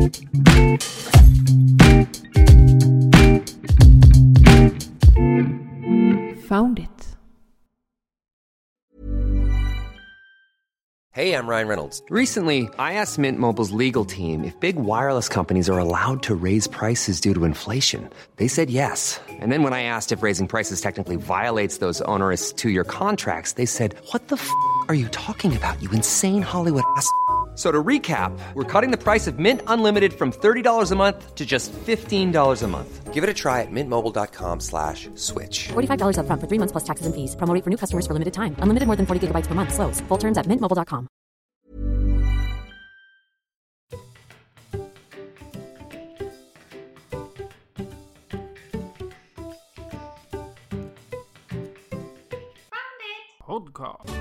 Found it. Hey, I'm Ryan Reynolds. Recently, I asked Mint Mobile's legal team if big wireless companies are allowed to raise prices due to inflation. They said yes. And then when I asked if raising prices technically violates those onerous two-year contracts, they said, "What the f*** are you talking about, you insane Hollywood ass?" So to recap, we're cutting the price of Mint Unlimited from $30 a month to just $15 a month. Give it a try at mintmobile.com/switch. $45 up front for 3 months plus taxes and fees. Promo rate for new customers for limited time. Unlimited more than 40 gigabytes per month. Slows full terms at mintmobile.com. Podcast.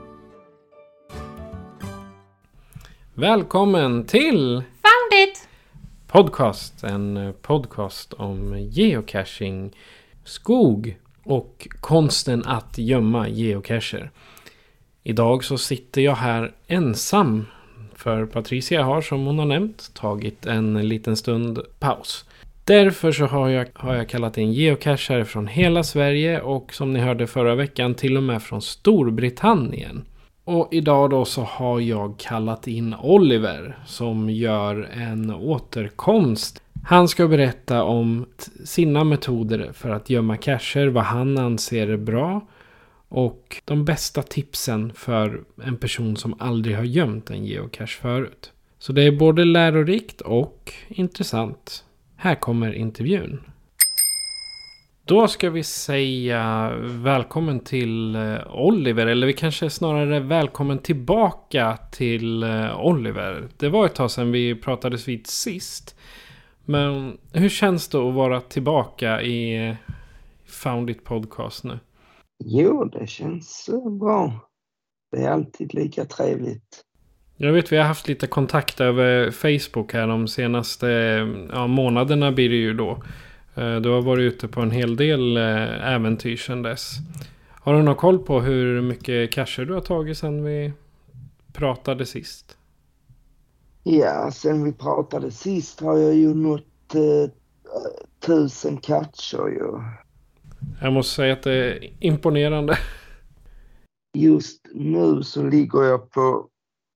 Välkommen till Found it! Podcast. En podcast om geocaching, skog och konsten att gömma geocacher. Idag så sitter jag här ensam. För Patricia har, som hon har nämnt, tagit en liten stund paus. Därför så har jag kallat in geocacher från hela Sverige och som ni hörde förra veckan till och med från Storbritannien. Och idag då så har jag kallat in Oliver som gör en återkomst. Han ska berätta om sina metoder för att gömma cacher, vad han anser är bra och de bästa tipsen för en person som aldrig har gömt en geocache förut. Så det är både lärorikt och intressant. Här kommer intervjun. Då ska vi säga välkommen till Oliver, eller vi kanske snarare välkommen tillbaka till Oliver. Det var ett tag sedan vi pratades vid sist. Men hur känns det att vara tillbaka i Found It Podcast nu? Jo, det känns bra. Det är alltid lika trevligt. Jag vet, vi har haft lite kontakt över Facebook här de senaste månaderna blir det ju då. Du har varit ute på en hel del äventyr sedan dess. Har du någon koll på hur mycket cacher du har tagit sedan vi pratade sist? Ja, sen vi pratade sist har jag ju nått 1000 cacher ju. Jag måste säga att det är imponerande. Just nu så ligger jag på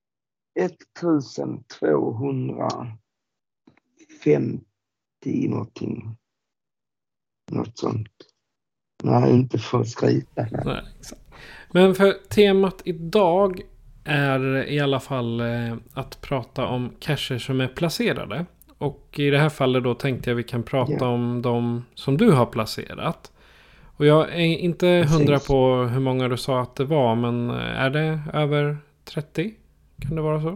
1250 någonting. Något sånt. Nej, inte för att skryta. Nej, exakt. Men för temat idag är i alla fall att prata om cacher som är placerade. Och i det här fallet då tänkte jag vi kan prata om de som du har placerat. Och jag är inte 100 på hur många du sa att det var, men är det över 30? Kan det vara så?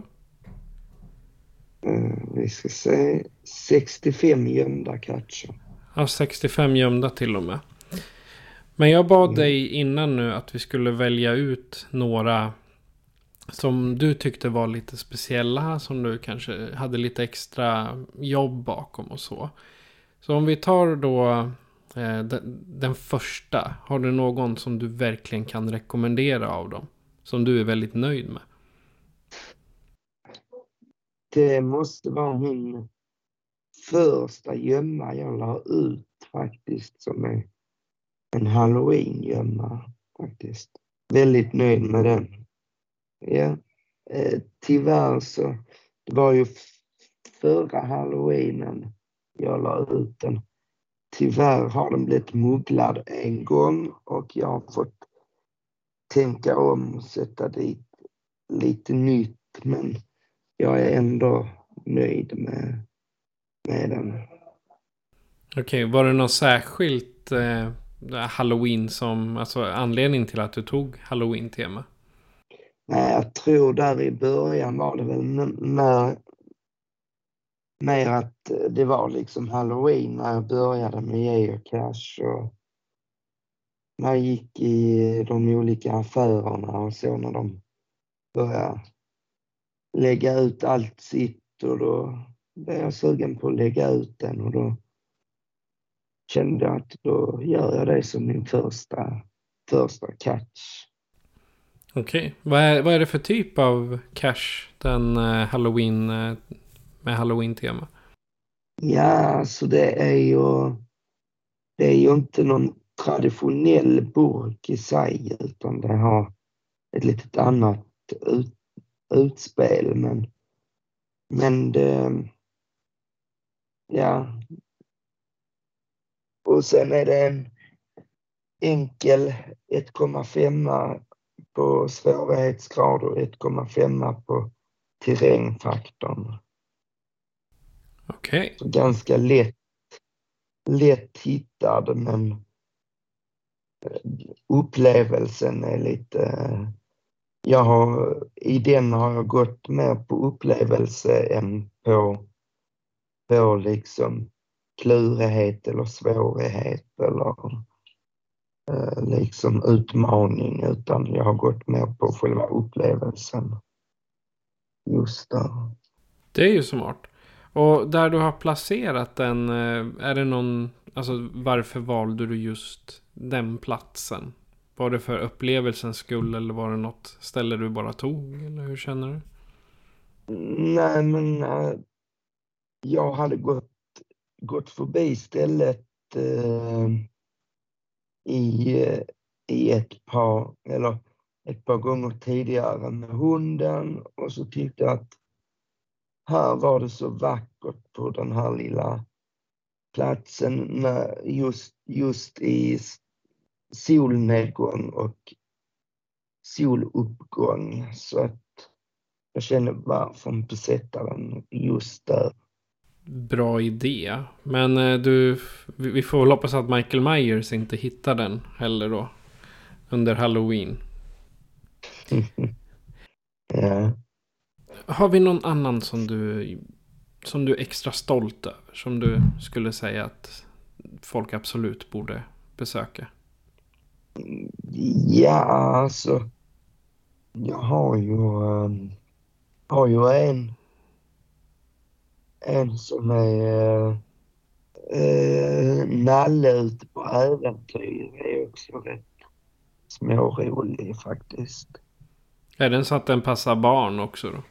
Vi ska se 65 gömda cacher. Ja, 65 gömda till och med. Men jag bad dig innan nu att vi skulle välja ut några som du tyckte var lite speciella, som du kanske hade lite extra jobb bakom och så. Så om vi tar då den första, har du någon som du verkligen kan rekommendera av dem? Som du är väldigt nöjd med? Det måste vara min första gömma jag la ut faktiskt, som är en Halloween-gömma faktiskt. Väldigt nöjd med den. Ja, tyvärr så, det var ju förra Halloweenen jag la ut den. Tyvärr har den blivit mugglad en gång och jag har fått tänka om och sätta dit lite nytt, men jag är ändå nöjd med den. Okej, var det något särskilt Halloween som, alltså anledning till att du tog Halloween-tema? Nej, jag tror där i början var det väl mer att det var liksom Halloween när jag började med geocache, och när jag gick i de olika affärerna och så, när de började lägga ut allt sitt, och då blev jag sugen på att lägga ut den, och då kände jag att då gör jag det som min första catch. Okej. Vad är det för typ av cache den Halloween med Halloween-tema? Ja, så det är ju inte någon traditionell burk i sig, utan det har ett litet annat utspel. Men det, ja. Och sen är det en enkel 1,5 på svårighetsgrad och 1,5 på terrängfaktorn. Okej. Så ganska lätt hittad, men upplevelsen är lite... I den har jag gått mer på upplevelse än på liksom klurighet eller svårighet eller liksom utmaning, utan jag har gått mer på själva upplevelsen just där. Det är ju smart. Och där du har placerat den, är det någon, alltså varför valde du just den platsen? Var det för upplevelsens skull eller var det något ställe du bara tog? Eller hur känner du? Nej, men jag hade gått förbi stället i ett par gånger tidigare med hunden, och så tyckte jag att här var det så vackert på den här lilla platsen med just i solnedgång och soluppgång, så att jag kände varför inte sätta den just där. Bra idé. Men vi får väl hoppas att Michael Myers inte hittar den heller då. Under Halloween. Ja. Har vi någon annan som du är extra stolt över? Som du skulle säga att folk absolut borde besöka? Ja, alltså. Jag har ju en som är Nalle ute på äventyr. Det är också rätt smårolig faktiskt. Är den så att den passar barn också då?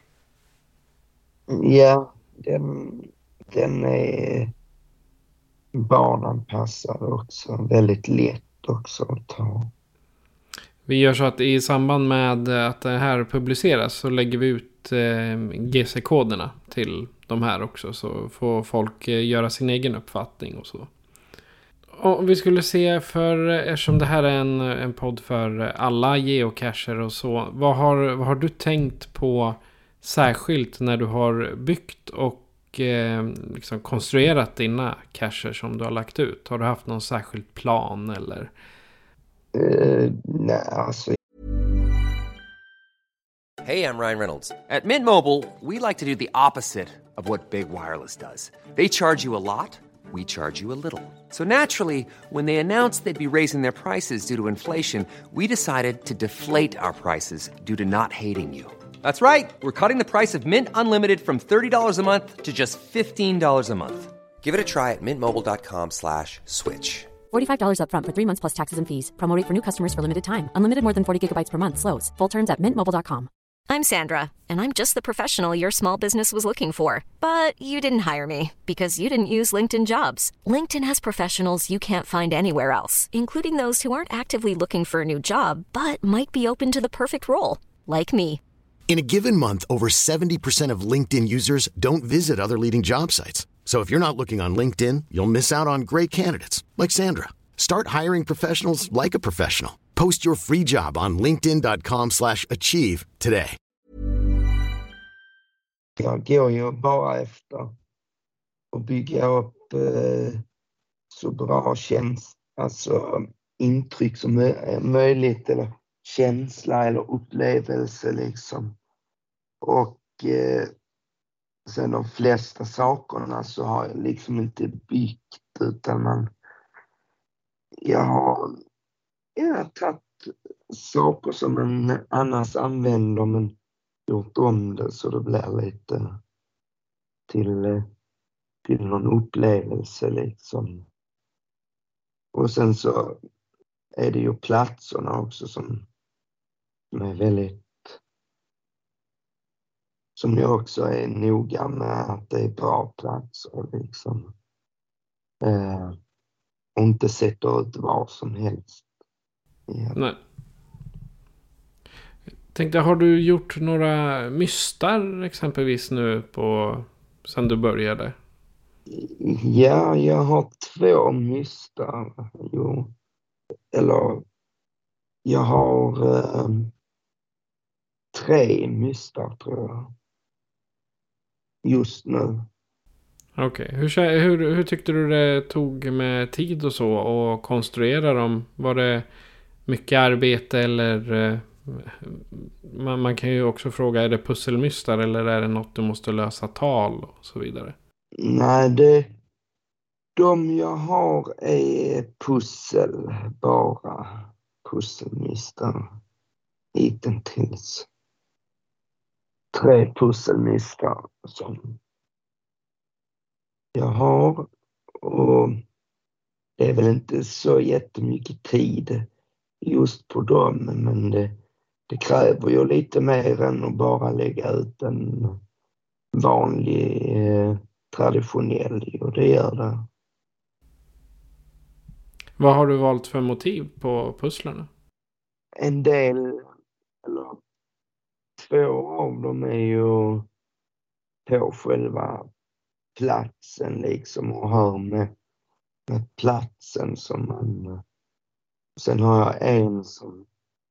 Ja, den är barnanpassad också. Väldigt lätt också att ta. Vi gör så att i samband med att det här publiceras så lägger vi ut GC-koderna till de här också. Så får folk göra sin egen uppfattning och så. Och vi skulle se, eftersom det här är en podd för alla geocacher och så. Vad har du tänkt på särskilt när du har byggt och liksom konstruerat dina cacher som du har lagt ut? Har du haft någon särskild plan eller? Nej, alltså. Hey, I'm Ryan Reynolds. At Mint Mobile, we like to do the opposite of what Big Wireless does. They charge you a lot, we charge you a little. So naturally, when they announced they'd be raising their prices due to inflation, we decided to deflate our prices due to not hating you. That's right. We're cutting the price of Mint Unlimited from $30 a month to just $15 a month. Give it a try at mintmobile.com/switch. $45 up front for 3 months plus taxes and fees. Promo rate for new customers for limited time. Unlimited more than 40 gigabytes per month slows. Full terms at mintmobile.com. I'm Sandra, and I'm just the professional your small business was looking for. But you didn't hire me because you didn't use LinkedIn Jobs. LinkedIn has professionals you can't find anywhere else, including those who aren't actively looking for a new job, but might be open to the perfect role, like me. In a given month, over 70% of LinkedIn users don't visit other leading job sites. So if you're not looking on LinkedIn, you'll miss out on great candidates like Sandra. Start hiring professionals like a professional. Post your free job on linkedin.com/achieve today. Jag går ju bara efter att bygga upp så bra intryck som möjligt, eller känsla eller upplevelse liksom. Och sen de flesta sakerna så har jag liksom inte byggt, utan jag har tagit saker som man annars använder men gjort om det så det blir lite till någon upplevelse liksom. Och sen så är det ju platserna också som är väldigt, som jag också är noga med att det är bra platser liksom. Och inte sätter ut var som helst. Ja. Nej. Tänkte, har du gjort några mystar exempelvis nu sen du började? Ja, jag har 2 mystar. Jo. Eller jag har 3 mystar tror jag. Just nu. Okej. Hur tyckte du det tog med tid och så och konstruera dem? Var det mycket arbete eller man kan ju också fråga, är det pusselmystar eller är det något du måste lösa tal och så vidare? Nej, de jag har är bara pusselmystar hittills. 3 pusselmystar som jag har, och det är väl inte så jättemycket tid just på dem, men det kräver ju lite mer än att bara lägga ut en vanlig traditionell, och det gör det. Vad har du valt för motiv på pusslarna? En del, eller 2 av dem är ju på själva platsen liksom, och hör med platsen som man... Sen har jag en som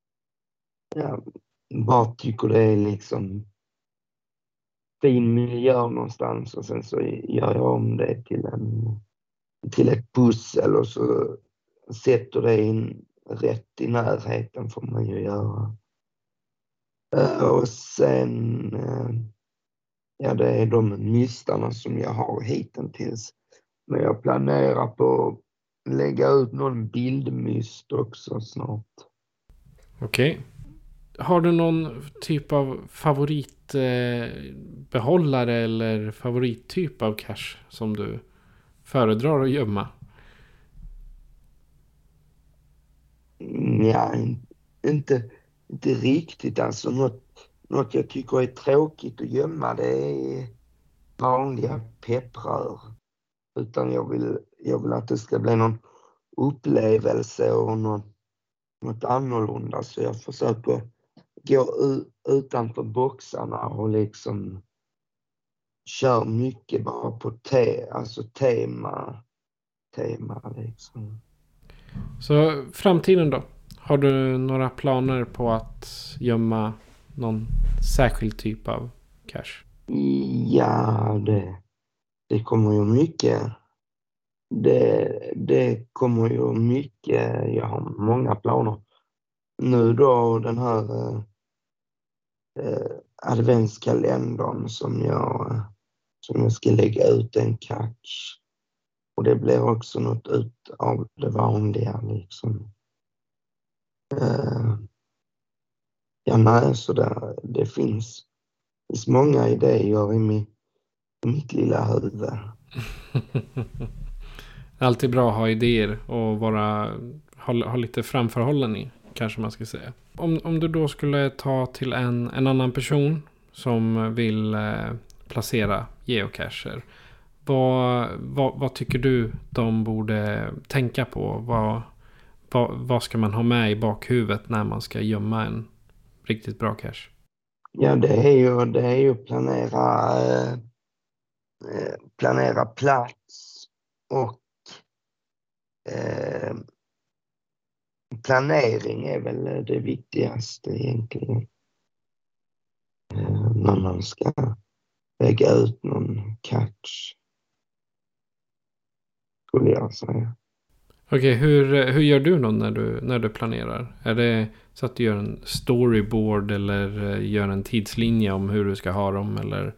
bara tycker det är liksom fin miljö någonstans, och sen så gör jag om det till ett pussel och så sätter det in rätt i närheten, får man ju göra. Och sen det är de mystarna som jag har hittills. Men jag planerar på att lägga ut någon bildmyst också snart. Okej. Har du någon typ av favoritbehållare eller favorittyp av cash som du föredrar att gömma? Ja, inte riktigt. Alltså något jag tycker är tråkigt att gömma, det är vanliga pepprör. Utan jag vill att det ska bli någon upplevelse och något annorlunda. Så jag försöker gå utanför boxarna och liksom kör mycket bara på tema liksom. Så framtiden då? Har du några planer på att gömma någon särskild typ av cash? Ja, det kommer ju mycket. Det kommer ju mycket. Jag har många planer. Nu då den här adventskalendern som jag ska lägga ut en catch. Och det blir också något ut av det vanliga liksom. Så det finns många idéer i mitt lilla huvud. Alltid bra att ha idéer och ha lite framförhållning, kanske man ska säga. Om du då skulle ta till en annan person som vill placera geocacher, vad tycker du de borde tänka på? Vad ska man ha med i bakhuvudet när man ska gömma en riktigt bra cache? Ja, det är ju planera plats och planering är väl det viktigaste egentligen. När man ska lägga ut någon catch, skulle jag säga. Okej, hur gör du då när du planerar? Är det så att du gör en storyboard eller gör en tidslinje om hur du ska ha dem, eller?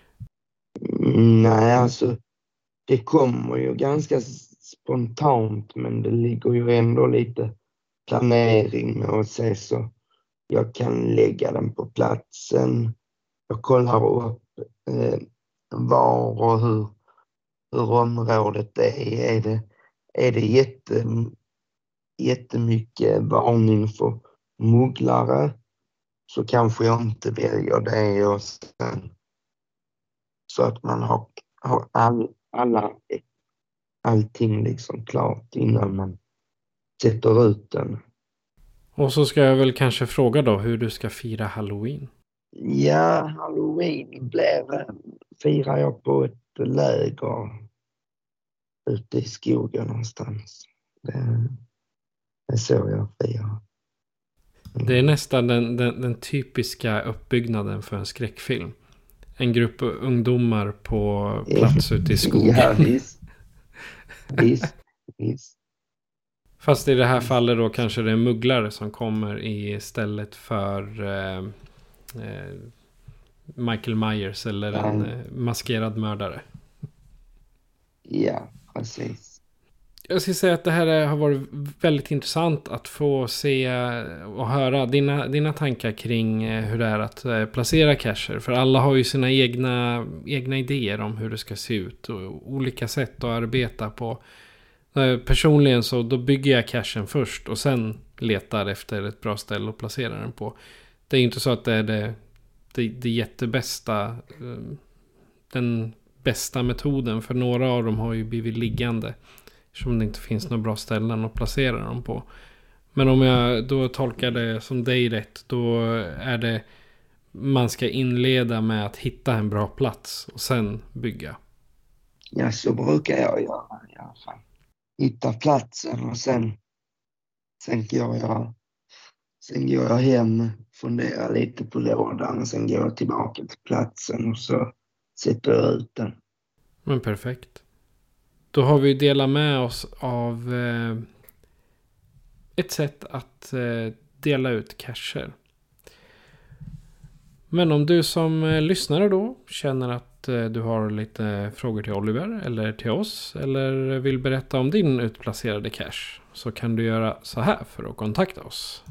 Nej, alltså det kommer ju ganska spontant, men det ligger ju ändå lite planering med att se så jag kan lägga den på platsen. Jag kollar upp var och hur området är. Är det jättemycket varning för mugglare, så kanske jag inte väljer det, och sen så att man har allting liksom klart innan man sätter ut den. Och så ska jag väl kanske fråga då hur du ska fira Halloween. Ja, Halloween firar jag på ett läger ute i skogen någonstans. Det är så jag firar. Det är nästan den typiska uppbyggnaden för en skräckfilm. En grupp ungdomar på plats ute i skogen. Ja, visst. Fast i det här fallet då kanske det är mugglare som kommer istället för Michael Myers eller en maskerad mördare. Ja, precis. Jag ska säga att det här har varit väldigt intressant att få se och höra dina tankar kring hur det är att placera cacher. För alla har ju sina egna idéer om hur det ska se ut och olika sätt att arbeta på. Personligen så då bygger jag cachen först och sen letar efter ett bra ställe att placera den på. Det är inte så att det är det jättebästa, den bästa metoden, för några av dem har ju blivit liggande eftersom det inte finns några bra ställen att placera dem på. Men om jag då tolkar det som dig rätt, då är det man ska inleda med att hitta en bra plats och sen bygga. Ja, så brukar jag göra i alla fall. Hitta platsen och sen går jag hem, funderar lite på lådan, sen går jag tillbaka till platsen och så sätter jag ut den. Men perfekt. Då har vi delat med oss av ett sätt att dela ut cacher. Men om du som lyssnare då känner att du har lite frågor till Oliver eller till oss eller vill berätta om din utplacerade cache, så kan du göra så här för att kontakta oss.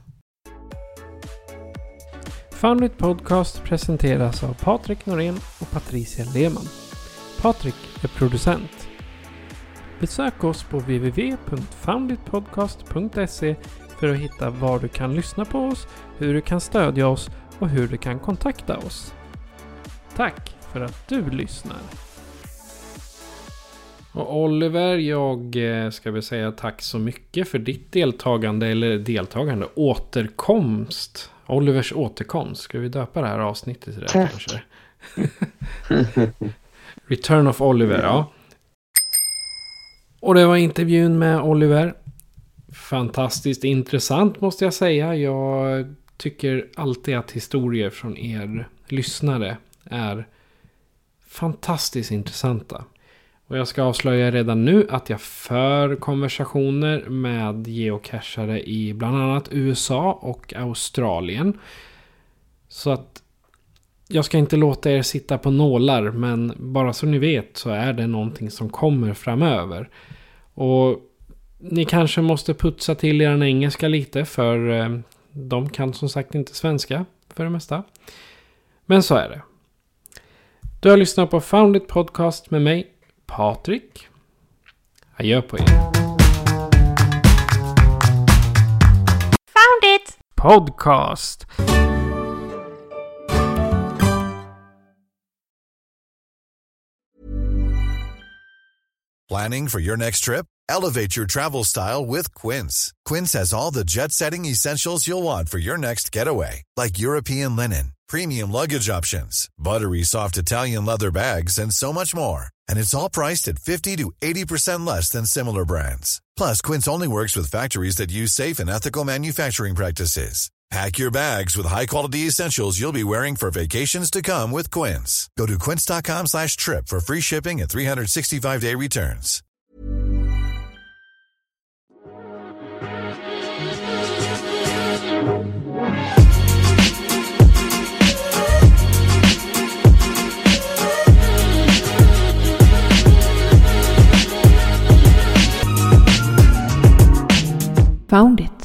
Foundit Podcast presenteras av Patrik Norén och Patricia Lehmann. Patrik är producent. Besök oss på www.founditpodcast.se för att hitta var du kan lyssna på oss, hur du kan stödja oss och hur du kan kontakta oss. Tack för att du lyssnar. Och Oliver, jag ska väl säga tack så mycket för ditt återkomst. Olivers återkomst. Ska vi döpa det här avsnittet till det kanske? Return of Oliver, ja. Och det var intervjun med Oliver. Fantastiskt intressant måste jag säga. Jag tycker alltid att historier från er lyssnare är fantastiskt intressanta. Och jag ska avslöja redan nu att jag för konversationer med geocachare i bland annat USA och Australien. Så att jag ska inte låta er sitta på nålar, men bara så ni vet så är det någonting som kommer framöver. Och ni kanske måste putsa till er engelska lite, för de kan som sagt inte svenska för det mesta. Men så är det. Du har lyssnat på Foundit Podcast med mig, Patrik. Adjö på er. Found it! Podcast. Planning for your next trip? Elevate your travel style with Quince. Quince has all the jet-setting essentials you'll want for your next getaway, like European linen, premium luggage options, buttery soft Italian leather bags, and so much more. And it's all priced at 50 to 80% less than similar brands. Plus, Quince only works with factories that use safe and ethical manufacturing practices. Pack your bags with high-quality essentials you'll be wearing for vacations to come with Quince. Go to quince.com/trip for free shipping and 365-day returns. Found it.